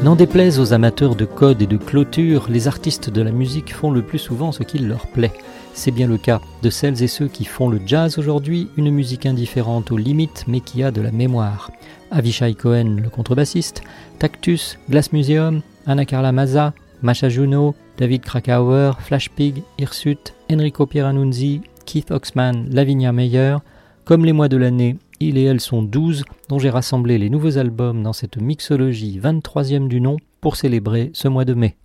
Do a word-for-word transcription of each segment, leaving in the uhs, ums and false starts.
N'en déplaise aux amateurs de code et de clôture, les artistes de la musique font le plus souvent ce qu'il leur plaît. C'est bien le cas de celles et ceux qui font le jazz aujourd'hui, une musique indifférente aux limites mais qui a de la mémoire. Avishai Cohen, le contrebassiste, Tactus, Glass Museum, Anna Carla Maza, Masha Juno, David Krakauer, Flash Pig, Hirsute, Enrico Pieranunzi, Keith Oxman, Lavinia Meyer. Comme les mois de l'année, ils et elles sont douze, dont j'ai rassemblé les nouveaux albums dans cette mixologie vingt-troisième du nom pour célébrer ce mois de mai.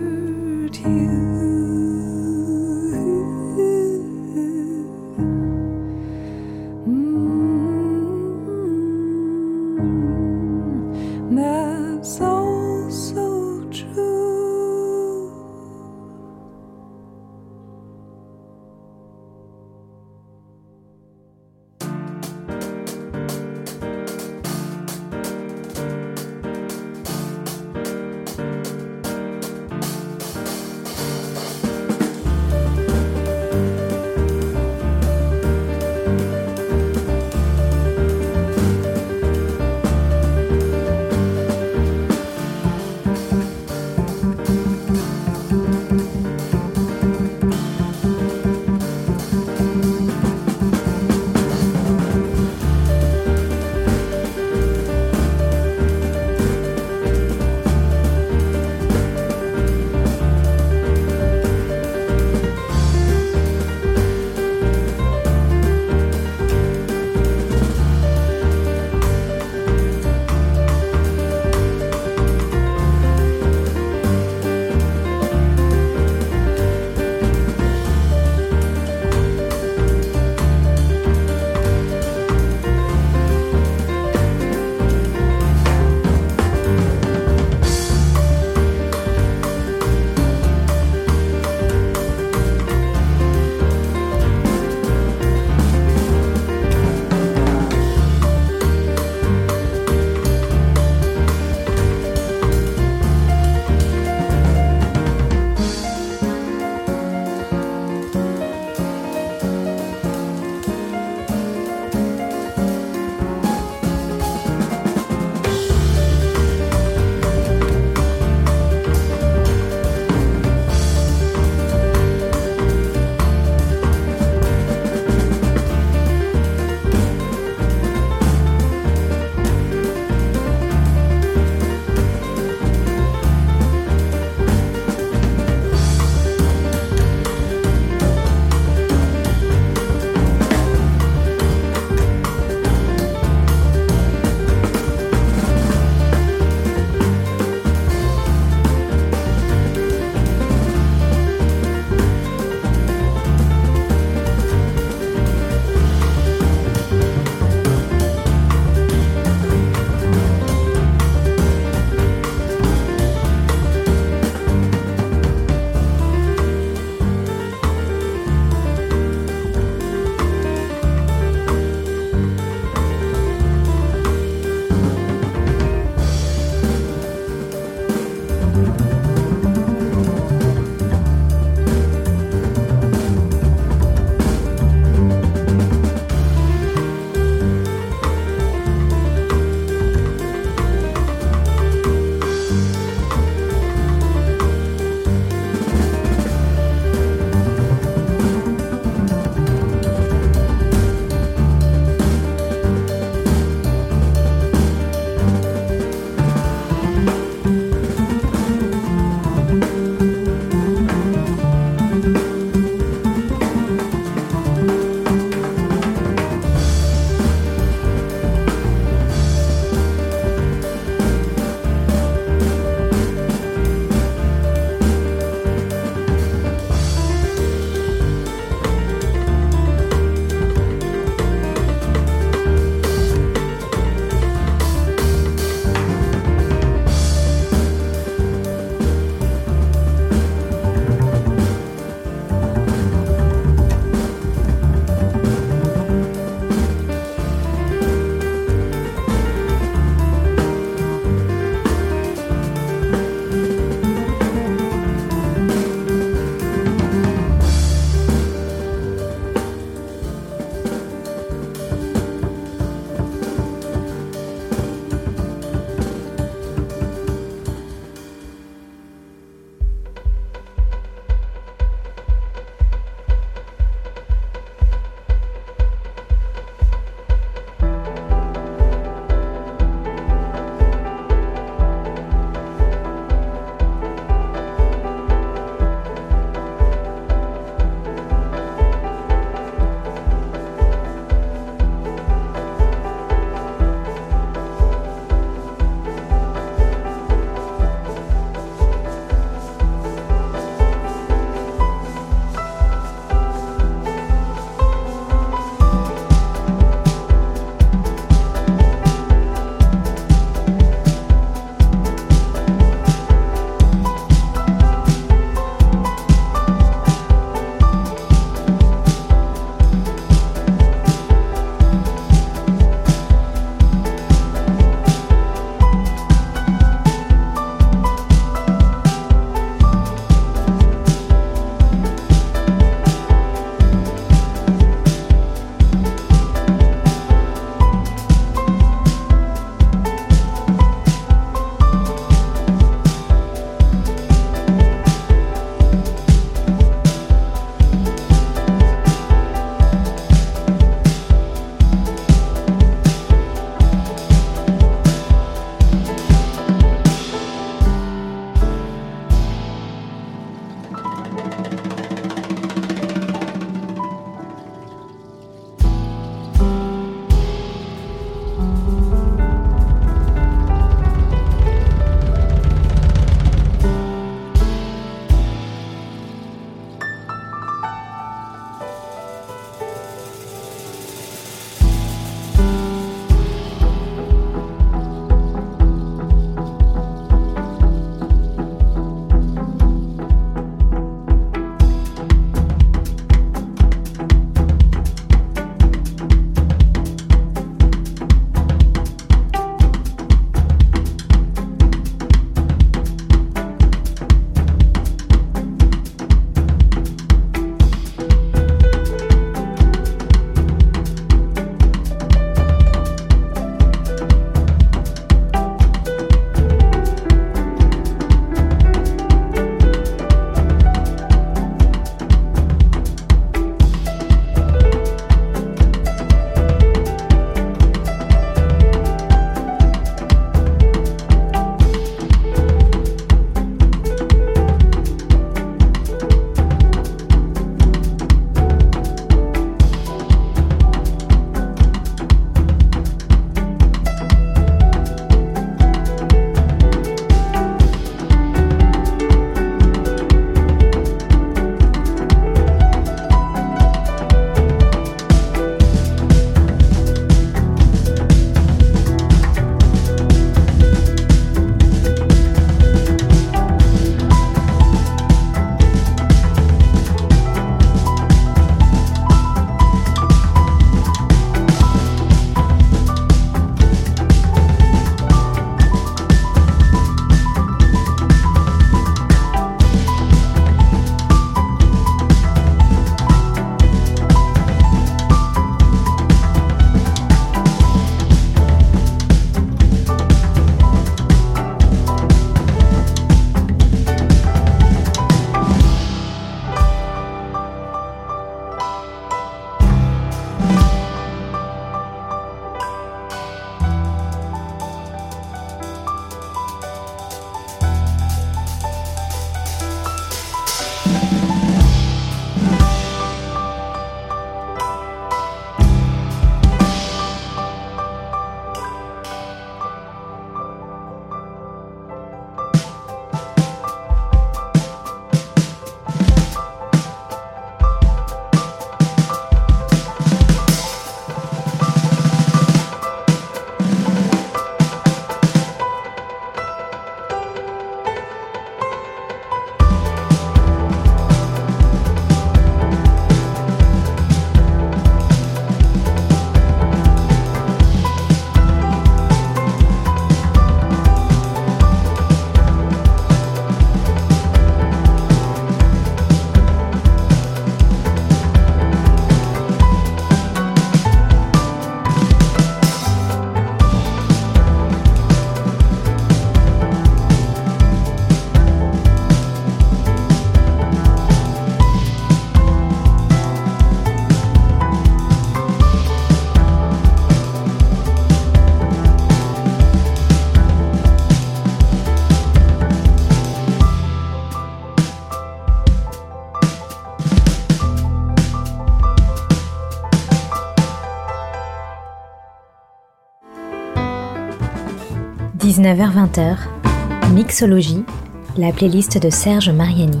dix-neuf heures vingt, Mixologie, la playlist de Serge Mariani.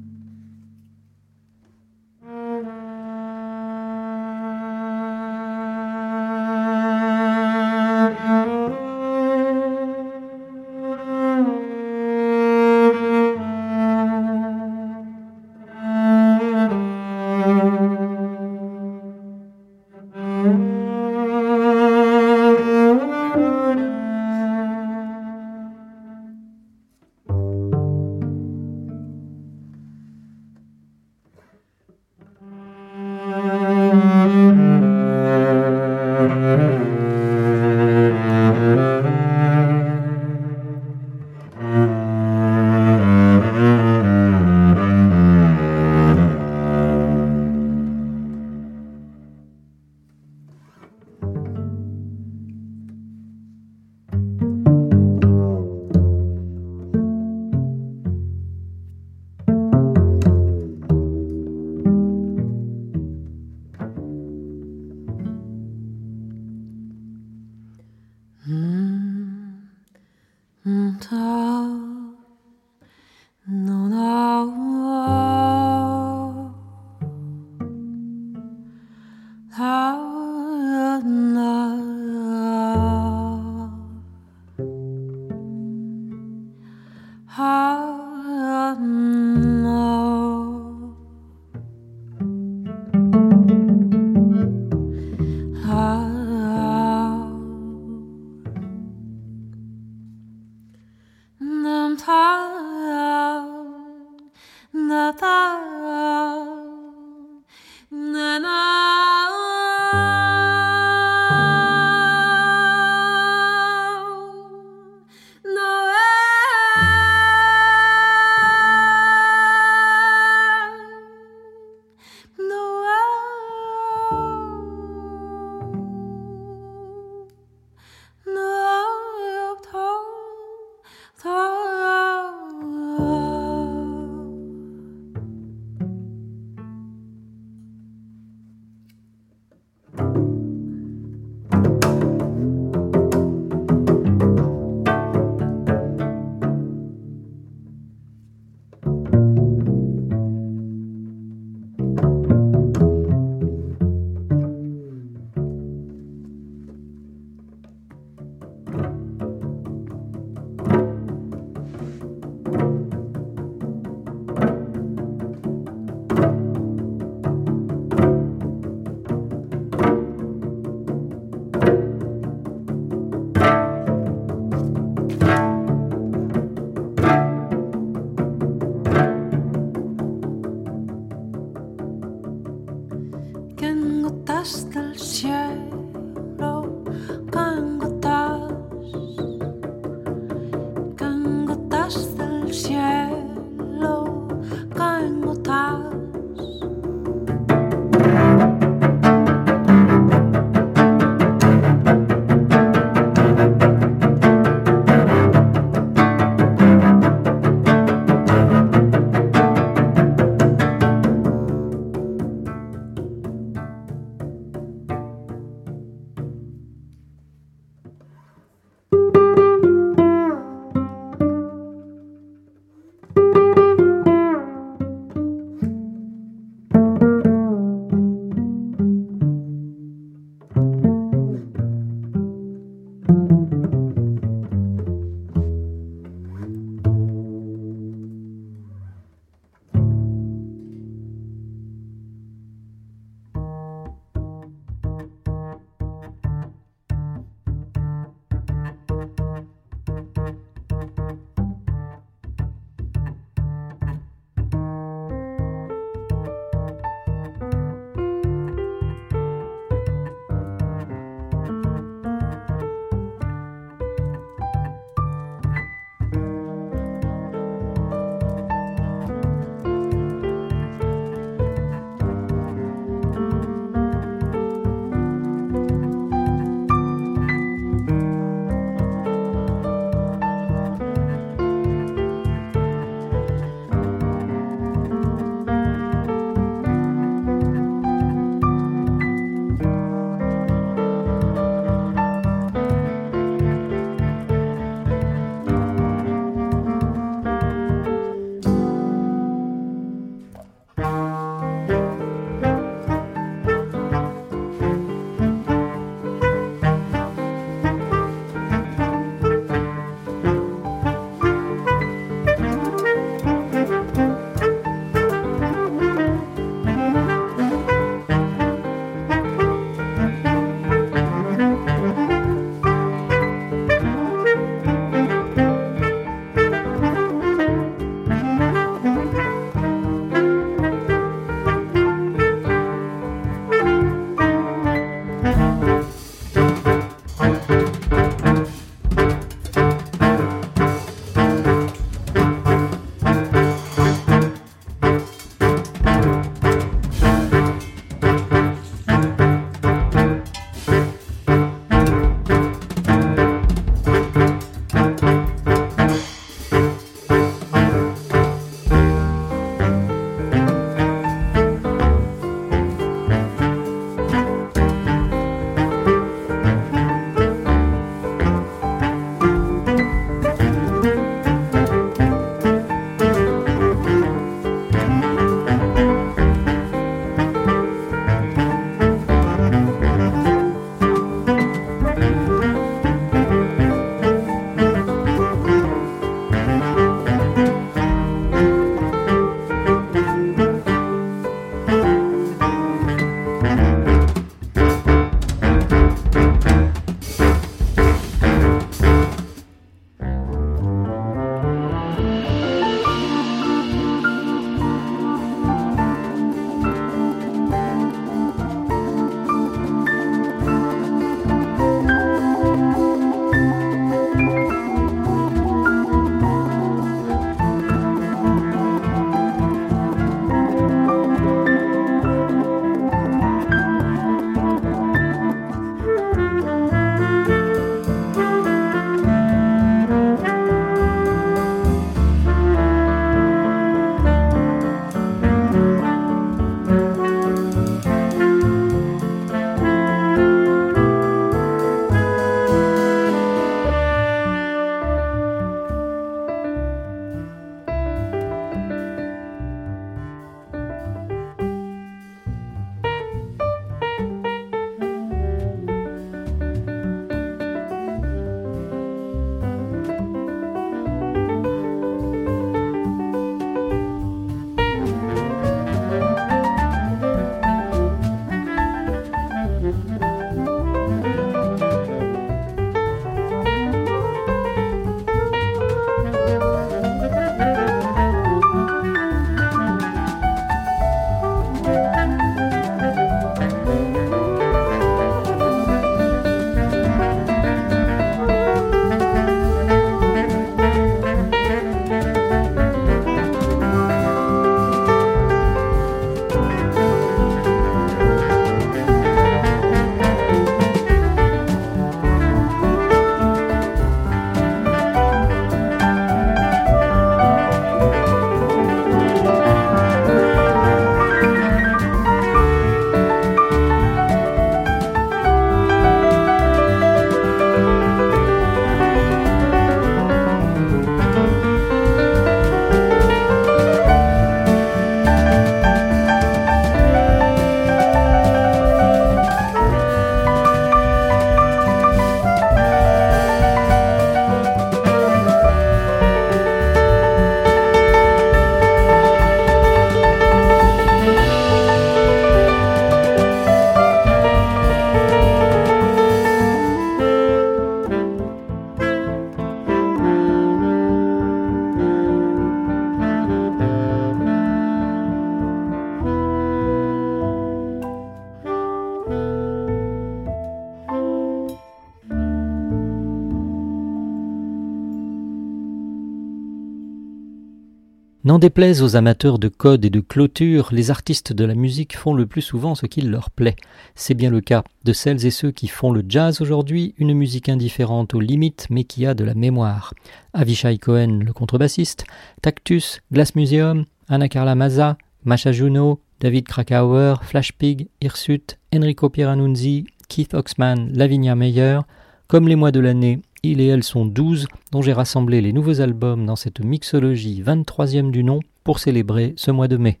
N'en déplaise aux amateurs de code et de clôture, les artistes de la musique font le plus souvent ce qu'il leur plaît. C'est bien le cas de celles et ceux qui font le jazz aujourd'hui, une musique indifférente aux limites mais qui a de la mémoire. Avishai Cohen, le contrebassiste, Tactus, Glass Museum, Anna Carla Maza, Masha Juno, David Krakauer, Flash Pig, Hirsute, Enrico Pieranunzi, Keith Oxman, Lavinia Meyer. Comme les mois de l'année, ils et elles sont douze, dont j'ai rassemblé les nouveaux albums dans cette mixologie vingt-troisième du nom pour célébrer ce mois de mai.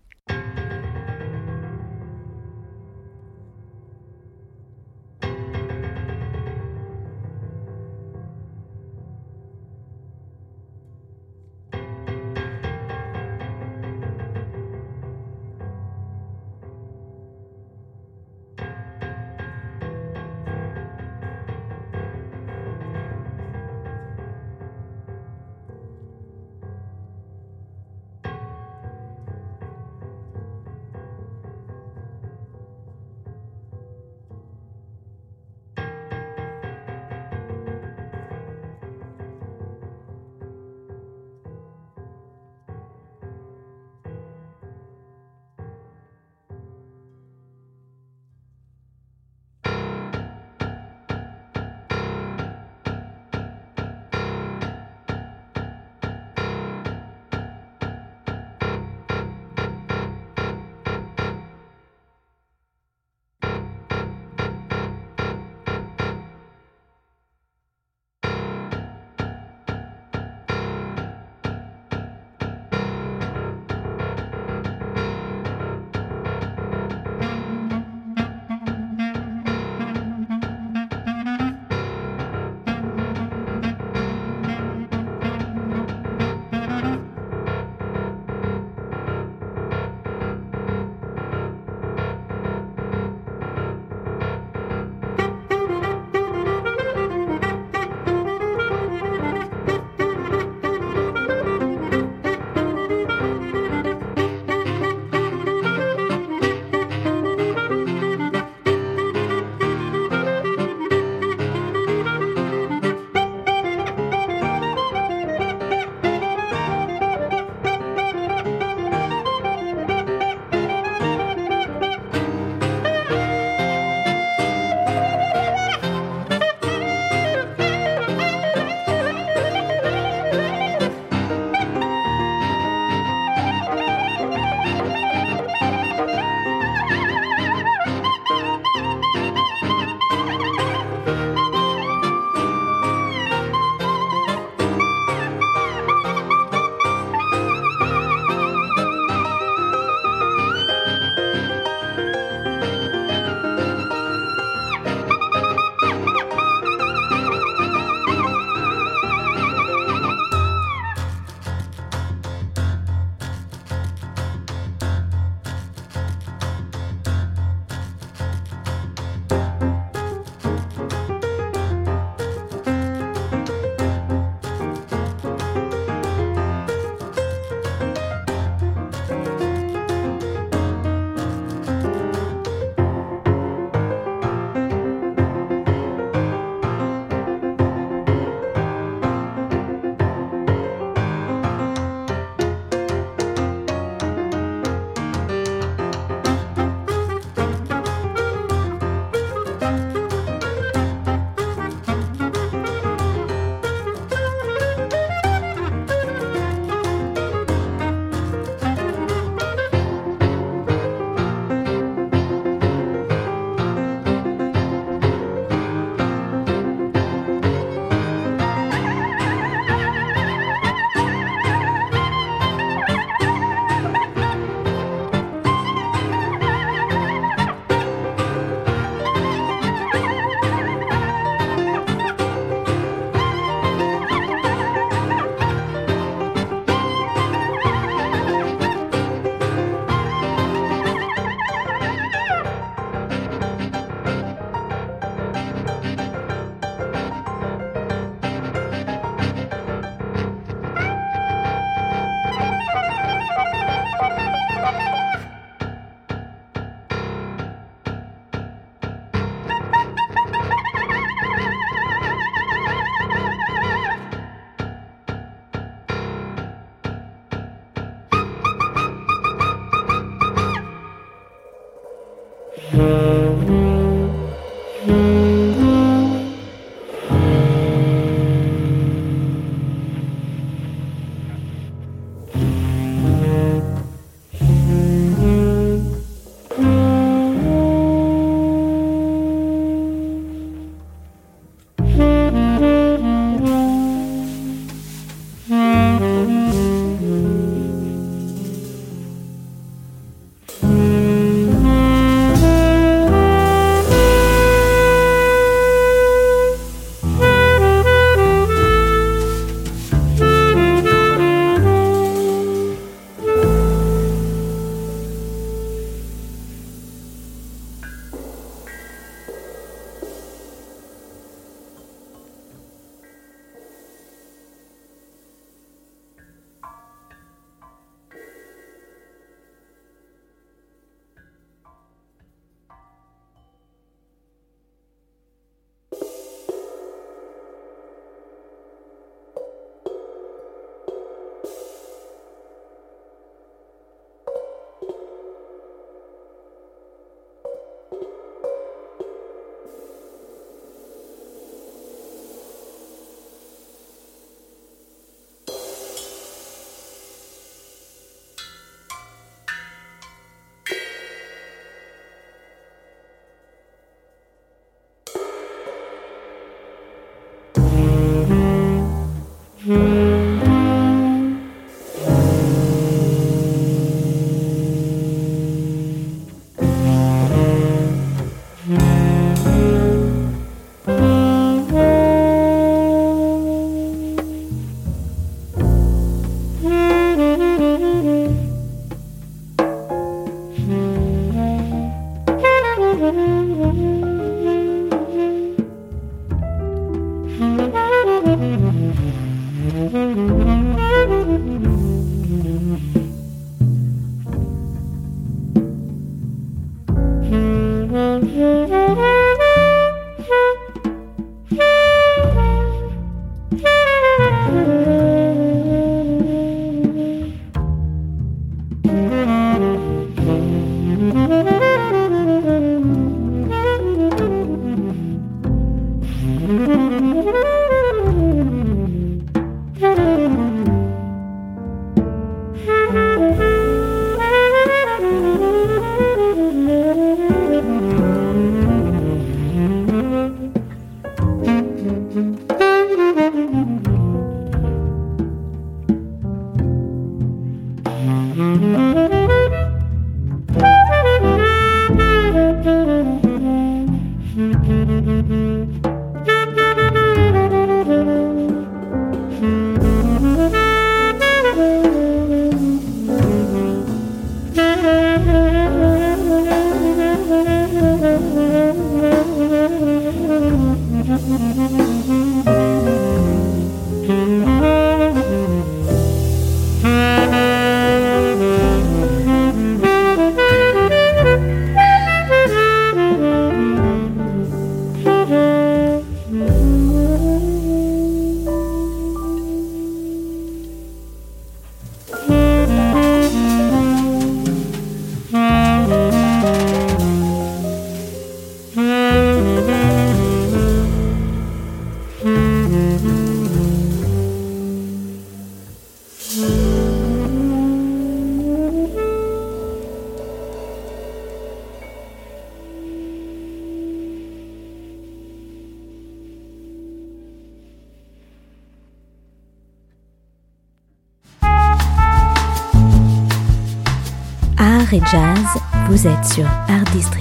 Art et jazz, vous êtes sur Art District.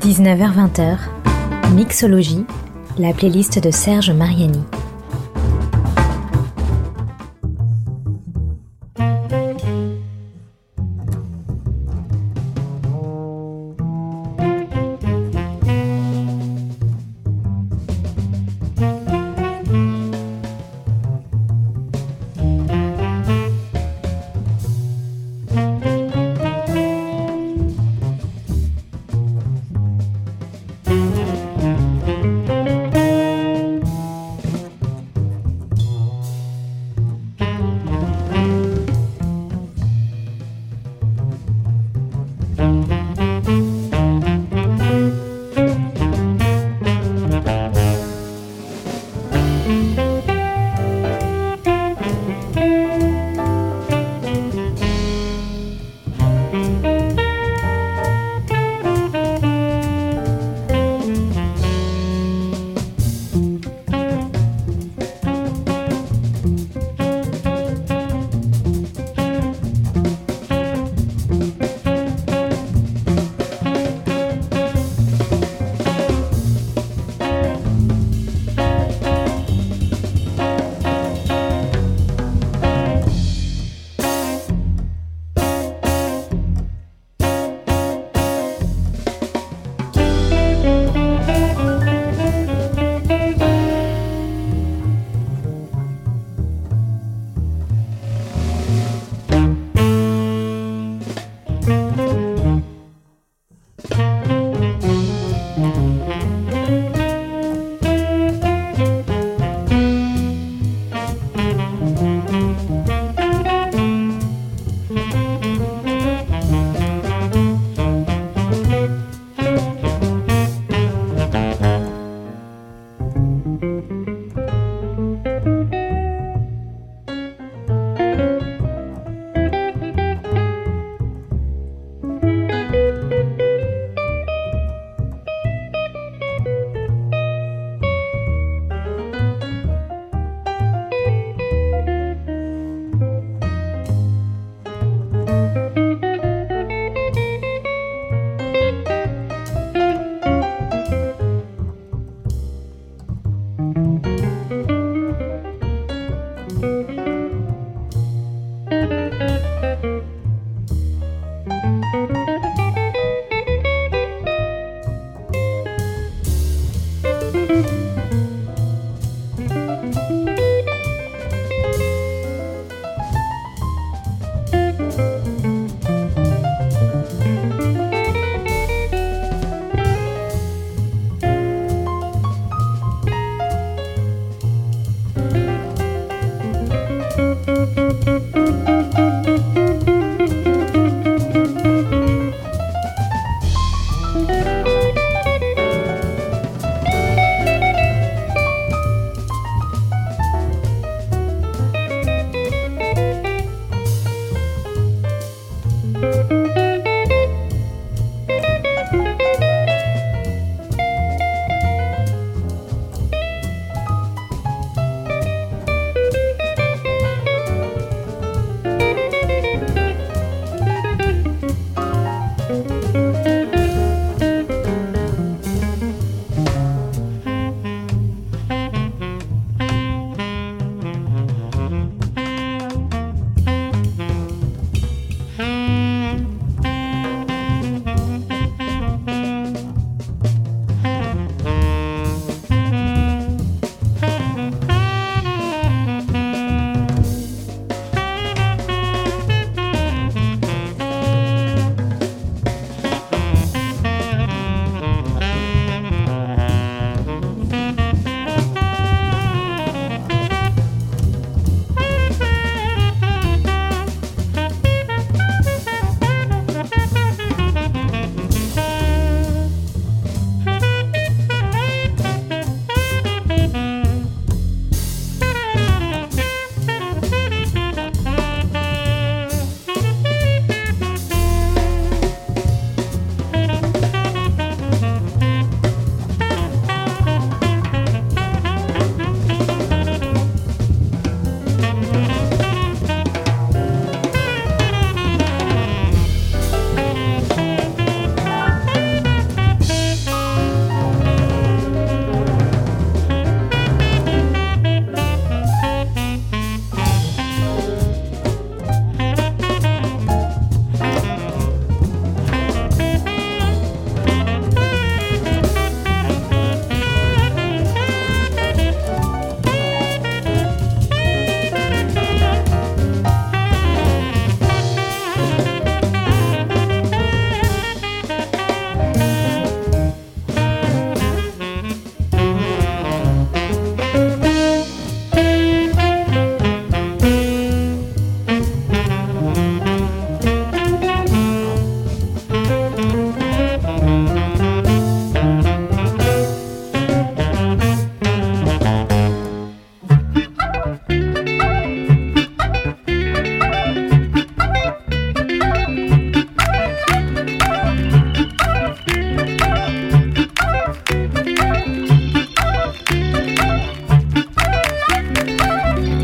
dix-neuf heures vingt, Mixologie, la playlist de Serge Mariani.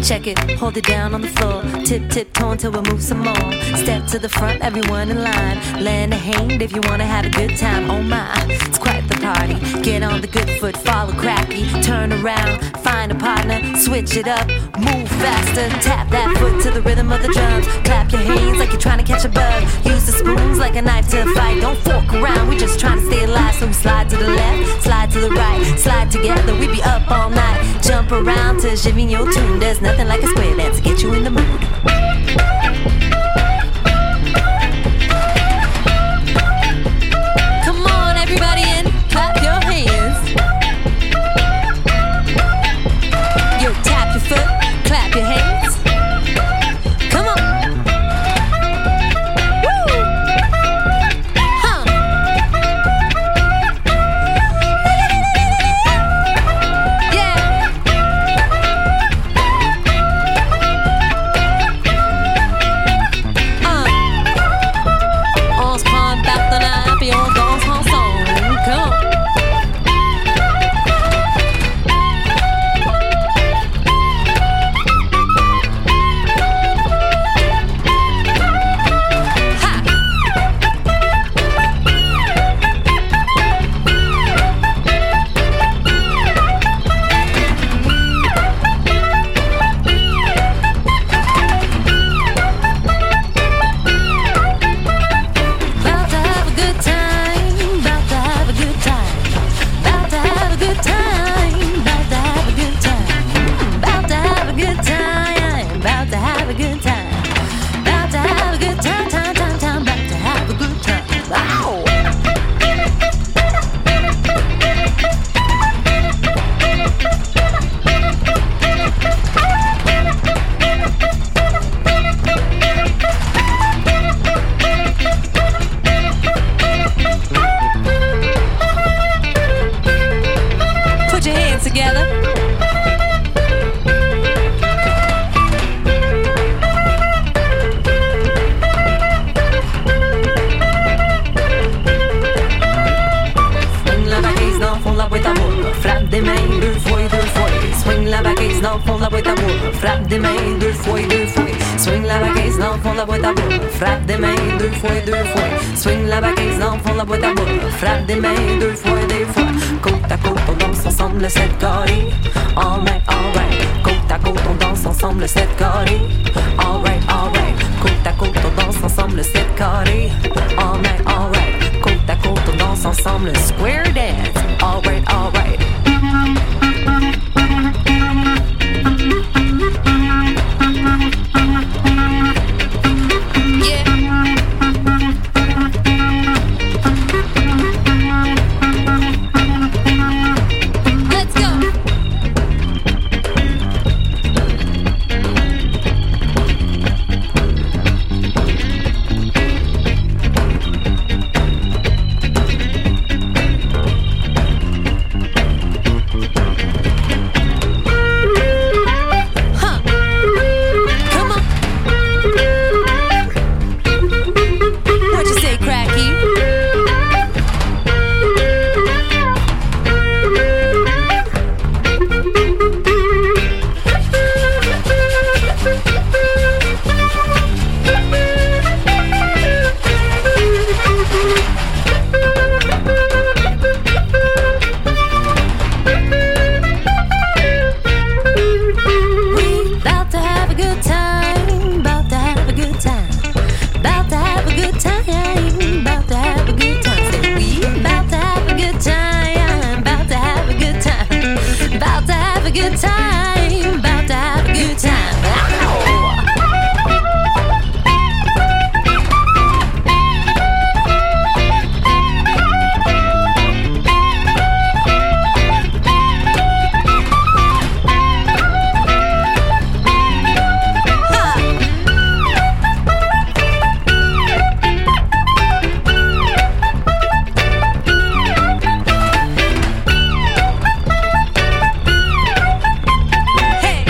Check it, hold it down on the floor. Tip, tip, toe until we move some more. Step to the front, everyone in line. Lend a hand if you wanna have a good time. Oh my, it's quite the party. Get on the good foot, follow cracky. Turn around, find a partner, switch it up, move faster. Tap that foot to the rhythm of the drums. Clap your hands like you're trying to catch a bug. Use the spoons like a knife to fight. Don't fork around, we just trying to stay alive. So we slide to the left, slide to the right, slide together, we be up all night. Jump around to Jivigno tune. There's nothing like a square dance to get you in the mood. Come on, everybody, and clap your hands. Yo, tap your foot, clap your hands. Come on. Woo! Huh. Yeah. Uh. On se prend un partenaire puis on danse ensemble. Come on. About to have a good time, about to have a good time, about to have a good time, about to have a good time, about to have a good time, about to have a good time, about to have a good time, time, time, time, about to have a good time. Ow! Put your hands together. Swing la baguette dans le fond de la boîte à moule. Frappe des mains deux fois et deux fois. Swing la baguette dans le fond de la boîte à moule. Frappe des mains deux fois et deux fois. Swing la baguette dans le fond de la boîte à moule. Frappe des mains deux fois et deux fois. Swing la baguette dans le fond de la boîte à moule. Frappe des mains deux fois et deux fois. Côte à côte, on danse ensemble le sept carré. All right, all right. Côte à côte, on danse ensemble le sept carré. All right, all right. Côte à côte, on danse ensemble le sept carré. All right, all right. Côte à côte, on danse ensemble le square dance. All right, all right. Yeah. Let's go. Huh. Come on. What you say, Cracky? We 'bout to have a good time, 'bout to have a good time, 'bout to have a good time, 'bout to have a good time. Say we 'bout to have a good time, 'bout to have a good time, 'bout to have a good time, 'bout to have a good time. Ow! Hey!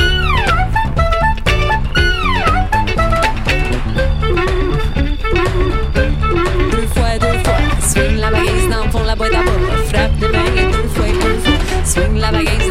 Deux fois, deux fois. Swing la baguette dans le fond de la boîte à boule. Frappe des mains deux fois, deux fois. Swing la baguette